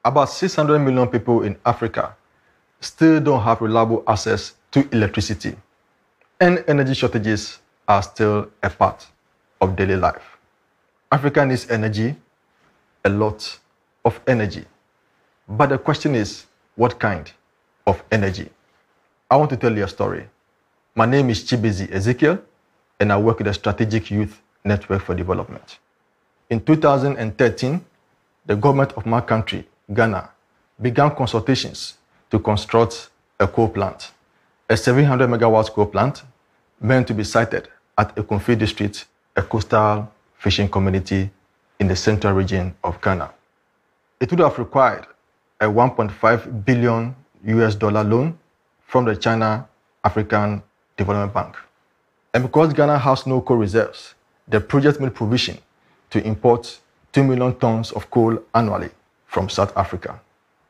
About 600 million people in Africa still don't have reliable access to electricity, and energy shortages are still a part of daily life. Africa needs energy, a lot of energy. But the question is, what kind of energy? I want to tell you a story. My name is Chibizi Ezekiel, and I work with the Strategic Youth Network for Development. In 2013, the government of my country, Ghana, began consultations to construct a coal plant, a 700 megawatts coal plant meant to be sited at Ekonfi District, a coastal fishing community in the central region of Ghana. It would have required a $1.5 billion loan from the China African Development Bank. And because Ghana has no coal reserves, the project made provision to import 2 million tons of coal annually from South Africa.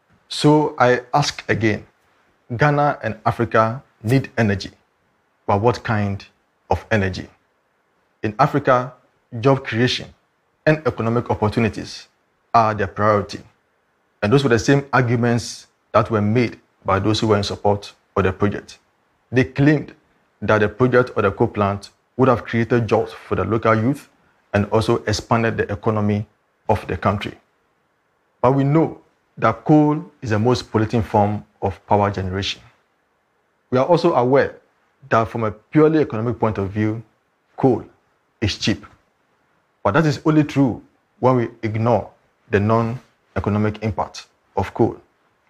So I ask again, Ghana and Africa need energy, but what kind of energy? In Africa, job creation and economic opportunities are their priority. And those were the same arguments that were made by those who were in support of the project. They claimed that the project or the coal plant would have created jobs for the local youth and also expanded the economy of the country. But we know that coal is the most polluting form of power generation. We are also aware that from a purely economic point of view, coal is cheap. But that is only true when we ignore the non-economic impact of coal.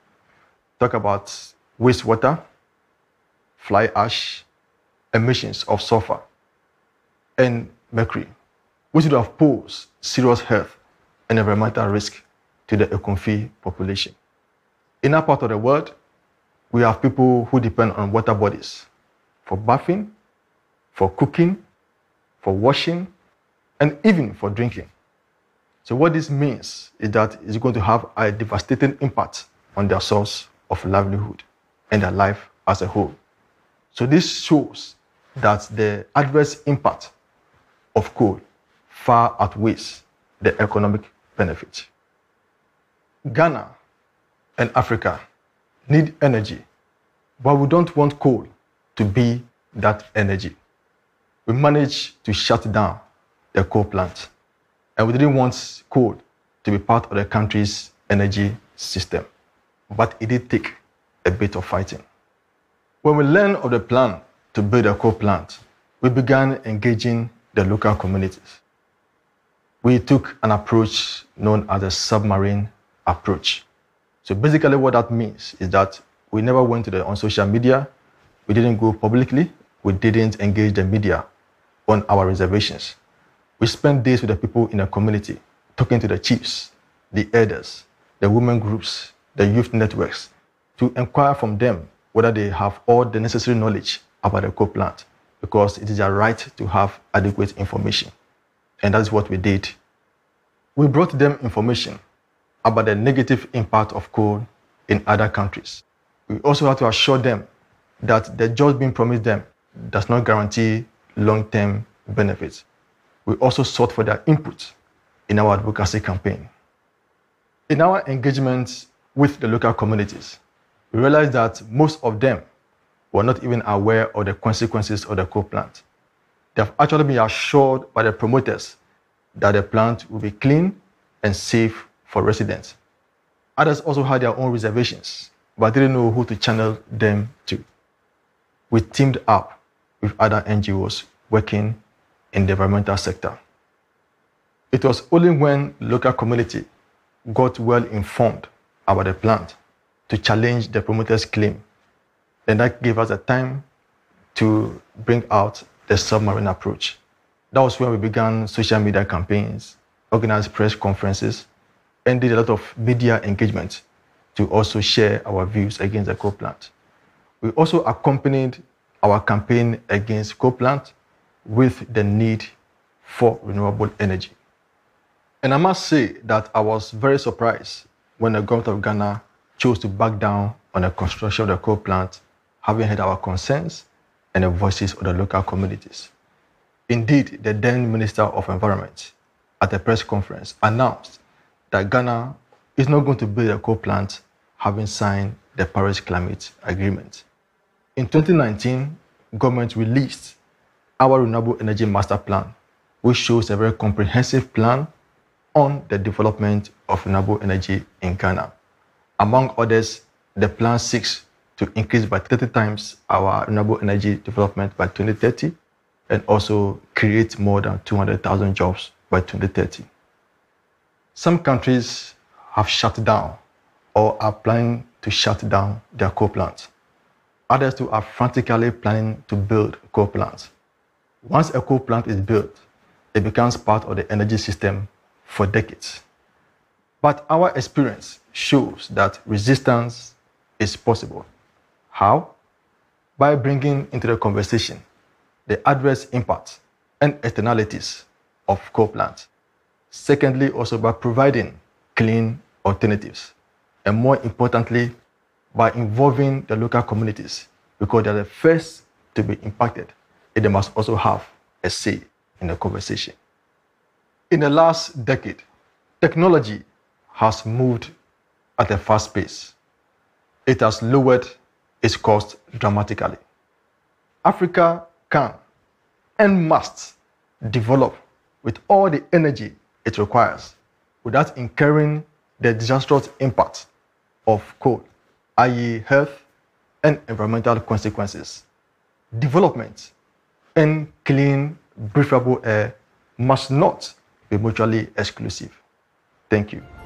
Talk about wastewater, fly ash, emissions of sulfur, and mercury, which would have posed serious health and environmental risk to the Ekonfi population. In our part of the world, we have people who depend on water bodies for bathing, for cooking, for washing, and even for drinking. So what this means is that it's going to have a devastating impact on their source of livelihood and their life as a whole. So this shows that the adverse impact of coal far outweighs the economic benefit. Ghana and Africa need energy, but we don't want coal to be that energy. We managed to shut down the coal plant, and we didn't want coal to be part of the country's energy system. But it did take a bit of fighting. When we learned of the plan to build a coal plant, we began engaging the local communities. We took an approach known as a submarine approach. So basically what that means is that we never went on social media, we didn't go publicly, we didn't engage the media on our reservations. We spent days with the people in the community, talking to the chiefs, the elders, the women groups, the youth networks, to inquire from them whether they have all the necessary knowledge about the coal plant, because it is their right to have adequate information. And that's what we did. We brought them information about the negative impact of coal in other countries. We also had to assure them that the jobs being promised them does not guarantee long-term benefits. We also sought for their input in our advocacy campaign. In our engagement with the local communities, we realized that most of them were not even aware of the consequences of the coal plant. They have actually been assured by the promoters that the plant will be clean and safe for residents. Others also had their own reservations, but didn't know who to channel them to. We teamed up with other NGOs working in the environmental sector. It was only when the local community got well informed about the plant to challenge the promoter's claim, and that gave us the time to bring out the submarine approach. That was when we began social media campaigns, organized press conferences, and did a lot of media engagement to also share our views against the coal plant. We also accompanied our campaign against coal plant with the need for renewable energy. And I must say that I was very surprised when the government of Ghana chose to back down on the construction of the coal plant, having heard our concerns and the voices of the local communities. Indeed, the then Minister of Environment at a press conference announced that Ghana is not going to build a coal plant having signed the Paris Climate Agreement. In 2019, government released our Renewable Energy Master Plan, which shows a very comprehensive plan on the development of renewable energy in Ghana. Among others, the plan seeks to increase by 30 times our renewable energy development by 2030 and also create more than 200,000 jobs by 2030. Some countries have shut down or are planning to shut down their coal plants. Others too are frantically planning to build coal plants. Once a coal plant is built, it becomes part of the energy system for decades. But our experience shows that resistance is possible. How? By bringing into the conversation the adverse impacts and externalities of coal plants. Secondly, also by providing clean alternatives. And more importantly, by involving the local communities, because they're the first to be impacted, and they must also have a say in the conversation. In the last decade, technology has moved at a fast pace. It has lowered its cost dramatically. Africa can and must develop with all the energy it requires without incurring the disastrous impact of coal, i.e. health and environmental consequences. Development and clean, breathable air must not be mutually exclusive. Thank you.